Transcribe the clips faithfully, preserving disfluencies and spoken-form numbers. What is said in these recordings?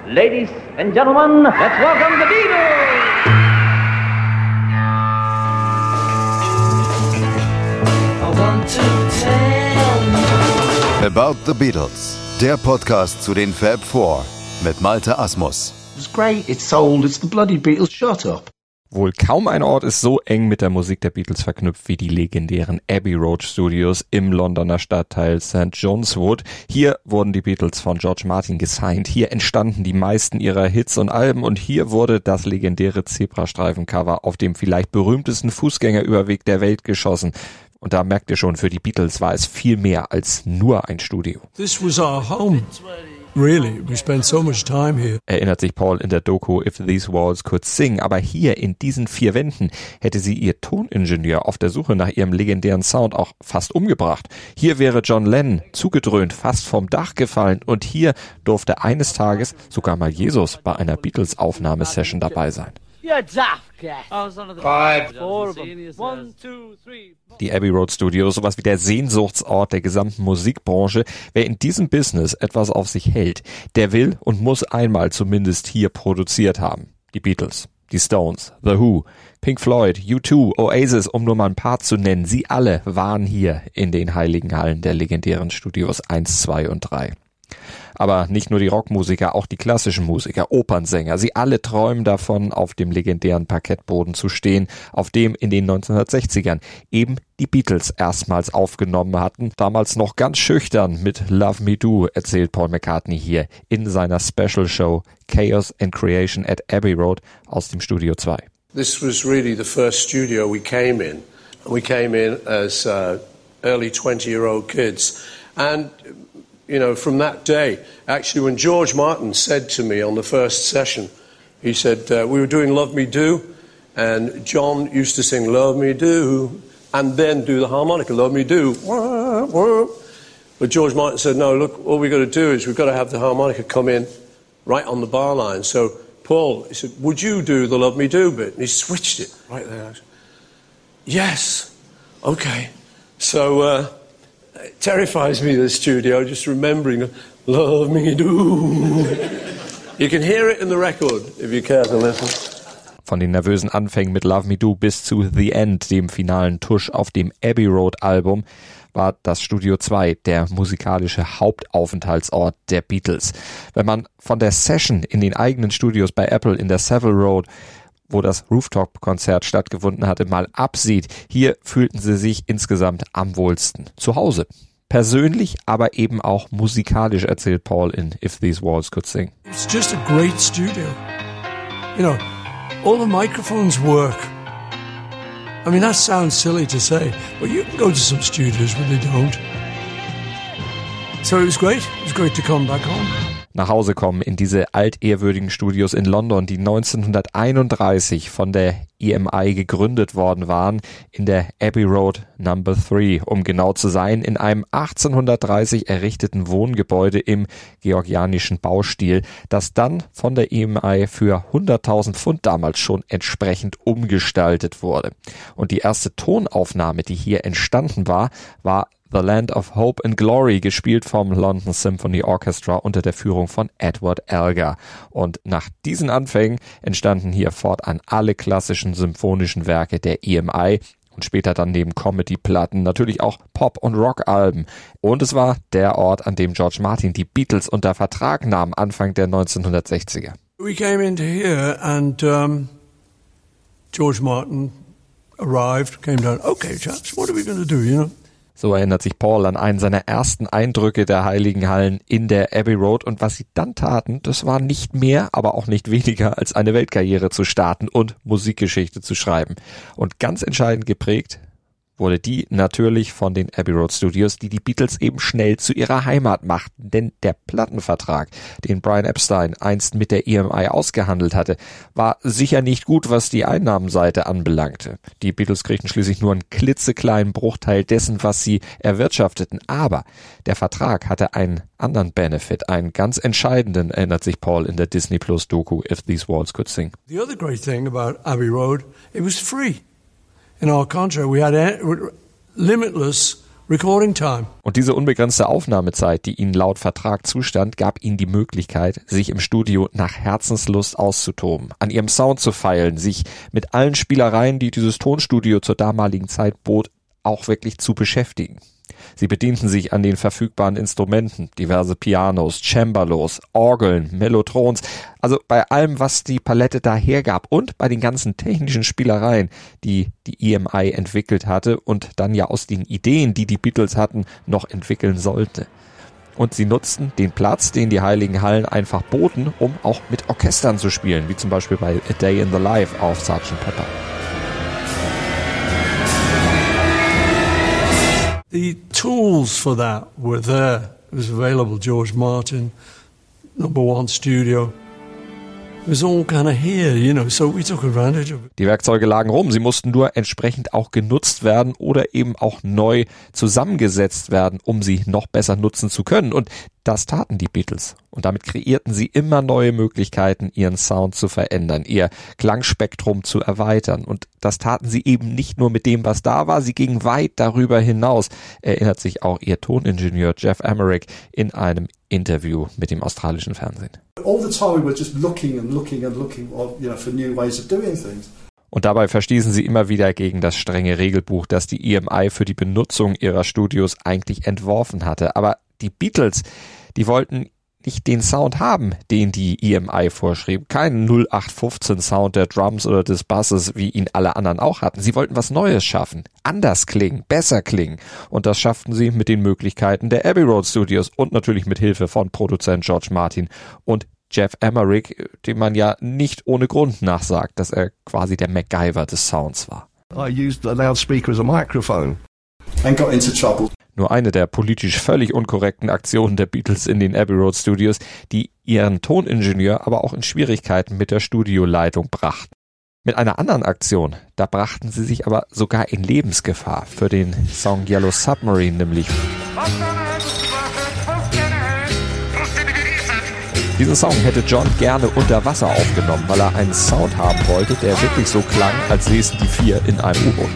Ladies and gentlemen, let's welcome the Beatles! I want to tell you About the Beatles, der Podcast zu den Fab Four mit Malte Asmus. It's great, it's sold, it's the bloody Beatles, shut up. Wohl kaum ein Ort ist so eng mit der Musik der Beatles verknüpft wie die legendären Abbey Road Studios im Londoner Stadtteil Sankt John's Wood. Hier wurden die Beatles von George Martin gesigned, hier entstanden die meisten ihrer Hits und Alben und hier wurde das legendäre Zebrastreifen-Cover auf dem vielleicht berühmtesten Fußgängerüberweg der Welt geschossen. Und da merkt ihr schon, für die Beatles war es viel mehr als nur ein Studio. This was our home. Really, we spent so much time here. Erinnert sich Paul in der Doku If These Walls Could Sing. Aber hier in diesen vier Wänden hätte sie ihr Toningenieur auf der Suche nach ihrem legendären Sound auch fast umgebracht. Hier wäre John Lennon zugedröhnt, fast vom Dach gefallen. Und hier durfte eines Tages sogar mal Jesus bei einer Beatles-Aufnahmesession dabei sein. Die Abbey Road Studios, sowas wie der Sehnsuchtsort der gesamten Musikbranche. Wer in diesem Business etwas auf sich hält, der will und muss einmal zumindest hier produziert haben. Die Beatles, die Stones, The Who, Pink Floyd, U zwei, Oasis, um nur mal ein paar zu nennen. Sie alle waren hier in den heiligen Hallen der legendären Studios eins, zwei und drei. Aber nicht nur die Rockmusiker, auch die klassischen Musiker, Opernsänger, sie alle träumen davon, auf dem legendären Parkettboden zu stehen, auf dem in den neunzehnhundertsechzigern eben die Beatles erstmals aufgenommen hatten. Damals noch ganz schüchtern mit Love Me Do, erzählt Paul McCartney hier in seiner Special Show Chaos and Creation at Abbey Road aus dem Studio zwei. This was really the first studio we came in. We came in as uh, early twenty-year-old kids. And you know, from that day, actually when George Martin said to me on the first session, he said, uh, we were doing Love Me Do, and John used to sing Love Me Do, and then do the harmonica, Love Me Do. But George Martin said, no, look, all we've got to do is we've got to have the harmonica come in right on the bar line. So Paul, he said, would you do the Love Me Do bit? And he switched it right there. Said, yes, okay. So, uh, it terrifies me, the studio, just remembering Love Me Do. You can hear it in the record, if you care to listen. Von den nervösen Anfängen mit Love Me Do bis zu The End, dem finalen Tusch auf dem Abbey Road Album, war das Studio zwei der musikalische Hauptaufenthaltsort der Beatles. Wenn man von der Session in den eigenen Studios bei Apple in der Savile Road, wo das Rooftop-Konzert stattgefunden hatte, mal absieht. Hier fühlten sie sich insgesamt am wohlsten. Zu Hause. Persönlich, aber eben auch musikalisch, erzählt Paul in If These Walls Could Sing. It's just a great studio. You know, all the microphones work. I mean, that sounds silly to say, but you can go to some studios where they don't. So it was great. It was great to come back home. Nach Hause kommen in diese altehrwürdigen Studios in London, die neunzehnhunderteinunddreißig von der E M I gegründet worden waren, in der Abbey Road Number drei, um genau zu sein, in einem achtzehnhundertdreißig errichteten Wohngebäude im georgianischen Baustil, das dann von der E M I für hunderttausend Pfund damals schon entsprechend umgestaltet wurde. Und die erste Tonaufnahme, die hier entstanden war, war The Land of Hope and Glory, gespielt vom London Symphony Orchestra unter der Führung von Edward Elgar. Und nach diesen Anfängen entstanden hier fortan alle klassischen symphonischen Werke der E M I und später dann neben Comedy-Platten natürlich auch Pop- und Rock-Alben. Und es war der Ort, an dem George Martin die Beatles unter Vertrag nahm, Anfang der neunzehnhundertsechziger. We came into here and um, George Martin arrived, came down, okay, chaps, what are we going to do, you know? So erinnert sich Paul an einen seiner ersten Eindrücke der Heiligen Hallen in der Abbey Road. Und was sie dann taten, das war nicht mehr, aber auch nicht weniger, als eine Weltkarriere zu starten und Musikgeschichte zu schreiben. Und ganz entscheidend geprägt wurde die natürlich von den Abbey Road Studios, die die Beatles eben schnell zu ihrer Heimat machten. Denn der Plattenvertrag, den Brian Epstein einst mit der E M I ausgehandelt hatte, war sicher nicht gut, was die Einnahmenseite anbelangte. Die Beatles kriegten schließlich nur einen klitzekleinen Bruchteil dessen, was sie erwirtschafteten. Aber der Vertrag hatte einen anderen Benefit, einen ganz entscheidenden, erinnert sich Paul in der Disney Plus Doku If These Walls Could Sing. The other great thing about Abbey Road, it was free. In our contract, we had limitless recording time. Und diese unbegrenzte Aufnahmezeit, die ihnen laut Vertrag zustand, gab ihnen die Möglichkeit, sich im Studio nach Herzenslust auszutoben, an ihrem Sound zu feilen, sich mit allen Spielereien, die dieses Tonstudio zur damaligen Zeit bot, auch wirklich zu beschäftigen. Sie bedienten sich an den verfügbaren Instrumenten, diverse Pianos, Cembalos, Orgeln, Mellotrons, also bei allem, was die Palette da hergab und bei den ganzen technischen Spielereien, die die E M I entwickelt hatte und dann ja aus den Ideen, die die Beatles hatten, noch entwickeln sollte. Und sie nutzten den Platz, den die Heiligen Hallen einfach boten, um auch mit Orchestern zu spielen, wie zum Beispiel bei A Day in the Life auf Sergeant Pepper. The tools for that were there. It was available. George Martin, number one studio. It was all kind of here, you know, so we took advantage of it. Die Werkzeuge lagen rum, sie mussten nur entsprechend auch genutzt werden oder eben auch neu zusammengesetzt werden, um sie noch besser nutzen zu können. Und das taten die Beatles. Und damit kreierten sie immer neue Möglichkeiten, ihren Sound zu verändern, ihr Klangspektrum zu erweitern. Und das taten sie eben nicht nur mit dem, was da war, sie gingen weit darüber hinaus, erinnert sich auch ihr Toningenieur Geoff Emerick in einem Interview mit dem australischen Fernsehen. All the time we were just looking and looking and looking, you know, for new ways of doing things. Und dabei verstießen sie immer wieder gegen das strenge Regelbuch, das die E M I für die Benutzung ihrer Studios eigentlich entworfen hatte. Aber die Beatles, die wollten nicht den Sound haben, den die E M I vorschrieb. Keinen null acht fünfzehn Sound der Drums oder des Basses, wie ihn alle anderen auch hatten. Sie wollten was Neues schaffen, anders klingen, besser klingen. Und das schafften sie mit den Möglichkeiten der Abbey Road Studios und natürlich mit Hilfe von Produzent George Martin und Geoff Emerick, dem man ja nicht ohne Grund nachsagt, dass er quasi der MacGyver des Sounds war. I used the loudspeaker as a microphone. And got into trouble. Nur eine der politisch völlig unkorrekten Aktionen der Beatles in den Abbey Road Studios, die ihren Toningenieur aber auch in Schwierigkeiten mit der Studioleitung brachten. Mit einer anderen Aktion, da brachten sie sich aber sogar in Lebensgefahr für den Song Yellow Submarine nämlich. Diesen Song hätte John gerne unter Wasser aufgenommen, weil er einen Sound haben wollte, der wirklich so klang, als säßen die vier in einem U-Boot.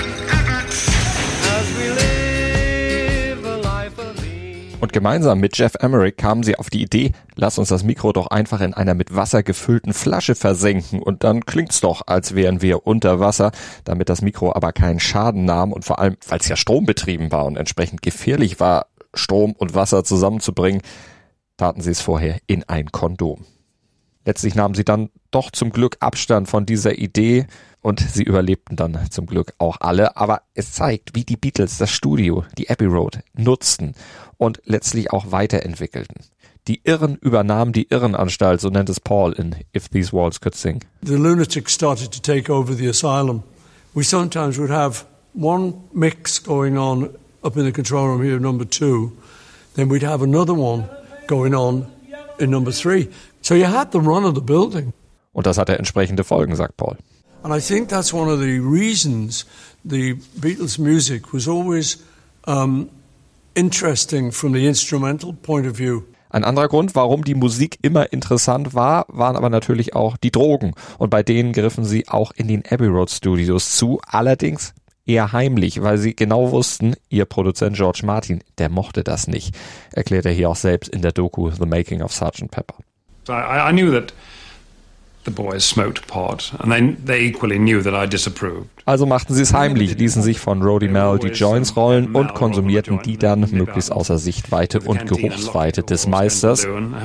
Und gemeinsam mit Geoff Emerick kamen sie auf die Idee, lass uns das Mikro doch einfach in einer mit Wasser gefüllten Flasche versenken und dann klingt's doch, als wären wir unter Wasser, damit das Mikro aber keinen Schaden nahm und vor allem, weil es ja strombetrieben war und entsprechend gefährlich war, Strom und Wasser zusammenzubringen, taten sie es vorher in ein Kondom. Letztlich nahmen sie dann doch zum Glück Abstand von dieser Idee und sie überlebten dann zum Glück auch alle. Aber es zeigt, wie die Beatles das Studio, die Abbey Road, nutzten und letztlich auch weiterentwickelten. Die Irren übernahmen die Irrenanstalt, so nennt es Paul in If These Walls Could Sing. The lunatics started to take over the asylum. We sometimes would have one mix going on up in the control room here, number two. Then we'd have another one going on in number three. So you had the run of the building. Und das hatte entsprechende Folgen, sagt Paul. And I think that's one of the reasons the Beatles' music was always um, interesting from the instrumental point of view. Ein anderer Grund, warum die Musik immer interessant war, waren aber natürlich auch die Drogen. Und bei denen griffen sie auch in den Abbey Road Studios zu, allerdings eher heimlich, weil sie genau wussten, ihr Produzent George Martin, der mochte das nicht, erklärt er hier auch selbst in der Doku The Making of Sergeant Pepper. I, I knew that the boys smoked pot, and they, they equally knew that I disapproved. Also machten sie es heimlich, ließen sich von Roddy Mel die Joints rollen und konsumierten die dann möglichst außer Sichtweite und Geruchsweite des Meisters.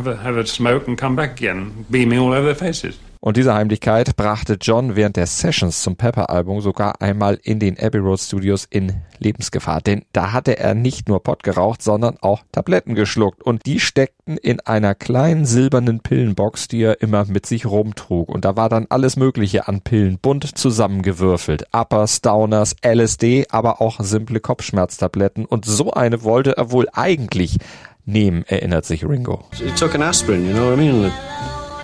Und diese Heimlichkeit brachte John während der Sessions zum Pepper-Album sogar einmal in den Abbey Road Studios in Lebensgefahr. Denn da hatte er nicht nur Pot geraucht, sondern auch Tabletten geschluckt. Und die steckten in einer kleinen silbernen Pillenbox, die er immer mit sich rumtrug. Und da war dann alles Mögliche an Pillen bunt zusammengewürfelt. Uppers, Downers, L S D, aber auch simple Kopfschmerztabletten. Und so eine wollte er wohl eigentlich nehmen, erinnert sich Ringo. He took an aspirin, you know what I mean?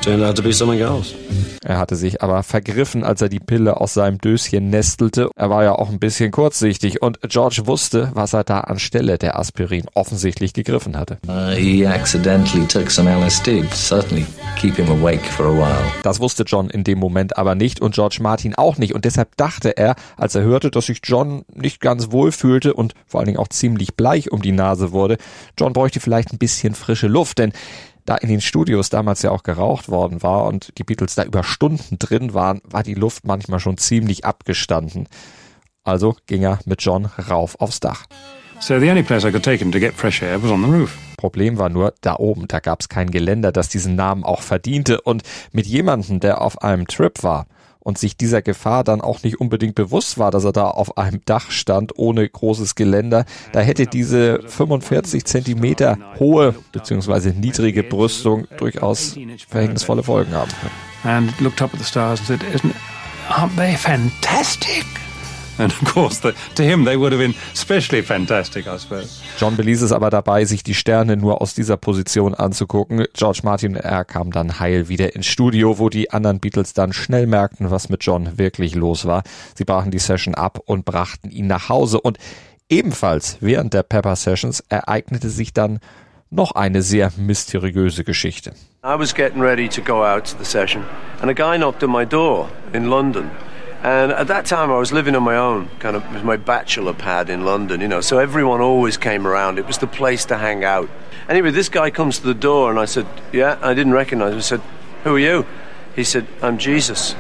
Turned out to be something else. Er hatte sich aber vergriffen, als er die Pille aus seinem Döschen nestelte. Er war ja auch ein bisschen kurzsichtig und George wusste, was er da anstelle der Aspirin offensichtlich gegriffen hatte. Uh, he accidentally took some L S D. Certainly keep him awake for a while. Das wusste John in dem Moment aber nicht und George Martin auch nicht. Und deshalb dachte er, als er hörte, dass sich John nicht ganz wohl fühlte und vor allen Dingen auch ziemlich bleich um die Nase wurde, John bräuchte vielleicht ein bisschen frische Luft, denn da in den Studios damals ja auch geraucht worden war und die Beatles da über Stunden drin waren, war die Luft manchmal schon ziemlich abgestanden. Also ging er mit John rauf aufs Dach. So the only place I could take him to get fresh air was on the roof. Problem war nur, da oben, da gab es kein Geländer, das diesen Namen auch verdiente. Und mit jemandem, der auf einem Trip war und sich dieser Gefahr dann auch nicht unbedingt bewusst war, dass er da auf einem Dach stand, ohne großes Geländer, da hätte diese fünfundvierzig Zentimeter hohe bzw. niedrige Brüstung durchaus verhängnisvolle Folgen haben können. And looked up at the stars and said, Isn't, aren't they fantastic? And of course, the, to him they would have been especially fantastic, I suppose. John beließ es aber dabei, sich die Sterne nur aus dieser Position anzugucken. George Martin und er kamen dann heil wieder ins Studio, wo die anderen Beatles dann schnell merkten, was mit John wirklich los war. Sie brachen die Session ab und brachten ihn nach Hause. Und ebenfalls während der Pepper Sessions ereignete sich dann noch eine sehr mysteriöse Geschichte. I was getting ready to go out to the session and a guy knocked on my door in London. And at that time I was living on my own, kind of with my bachelor pad in London, you know, so everyone always came around. It was the place to hang out. Anyway, this guy comes to the door and I said, yeah, I didn't recognize him. I said, who are you? He said, I'm Jesus.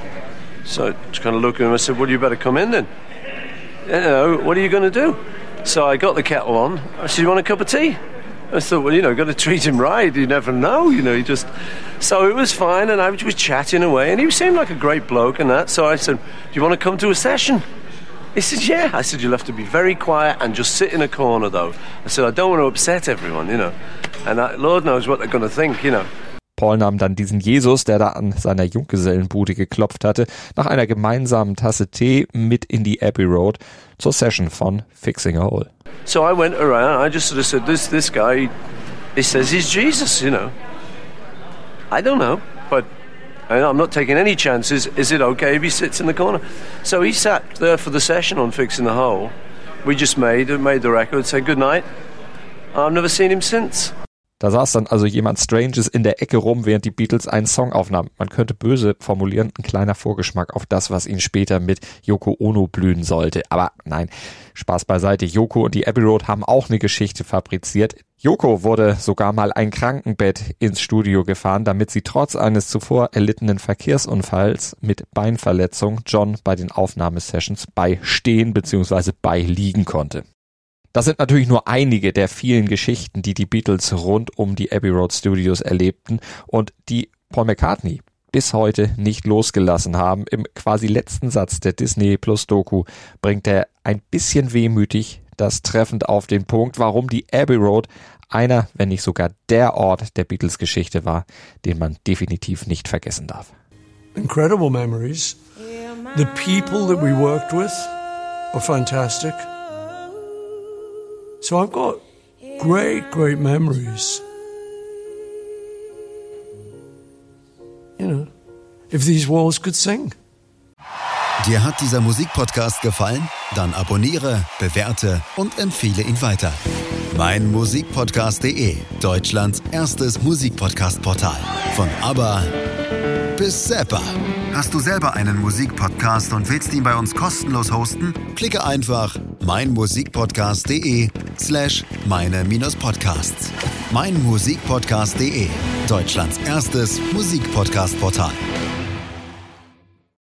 So I just kind of looked at him, I said, well, you better come in then. You know, what are you going to do? So I got the kettle on. I said, you want a cup of tea? I thought, well, you know, got to treat him right. You never know, you know. You just so it was fine, and I was chatting away, and he seemed like a great bloke and that. So I said, "Do you want to come to a session?" He said, "Yeah." I said, "You'll have to be very quiet and just sit in a corner, though." I said, "I don't want to upset everyone, you know, and I, Lord knows what they're going to think, you know." Paul nahm dann diesen Jesus, der da an seiner Junggesellenbude geklopft hatte, nach einer gemeinsamen Tasse Tee mit in die Abbey Road zur Session von Fixing a Hole. So I went around, I just sort of said, this this guy, he says he's Jesus, you know. I don't know, but I'm not taking any chances. Is it okay if he sits in the corner? So he sat there for the session on Fixing the Hole. We just made, made the record, said good night. I've never seen him since. Da saß dann also jemand Stranges in der Ecke rum, während die Beatles einen Song aufnahmen. Man könnte böse formulieren, ein kleiner Vorgeschmack auf das, was ihn später mit Yoko Ono blühen sollte. Aber nein, Spaß beiseite. Yoko und die Abbey Road haben auch eine Geschichte fabriziert. Yoko wurde sogar mal ein Krankenbett ins Studio gefahren, damit sie trotz eines zuvor erlittenen Verkehrsunfalls mit Beinverletzung John bei den Aufnahmesessions beistehen bzw. beiliegen konnte. Das sind natürlich nur einige der vielen Geschichten, die die Beatles rund um die Abbey Road Studios erlebten und die Paul McCartney bis heute nicht losgelassen haben. Im quasi letzten Satz der Disney Plus Doku bringt er ein bisschen wehmütig das treffend auf den Punkt, warum die Abbey Road einer, wenn nicht sogar der Ort der Beatles Geschichte war, den man definitiv nicht vergessen darf. Incredible memories. The people that we worked with were fantastic. So I've got great, great memories. You know, if these walls could sing. Dir hat dieser Musikpodcast gefallen? Dann abonniere, bewerte und empfehle ihn weiter. mein Musikpodcast punkt de, Deutschlands erstes Musikpodcast-Portal. Von ABBA bis Zappa. Hast du selber einen Musikpodcast und willst ihn bei uns kostenlos hosten? Klicke einfach meinmusikpodcast.de slash meine minus Podcasts. mein Musikpodcast punkt de, Deutschlands erstes Musikpodcast-Portal.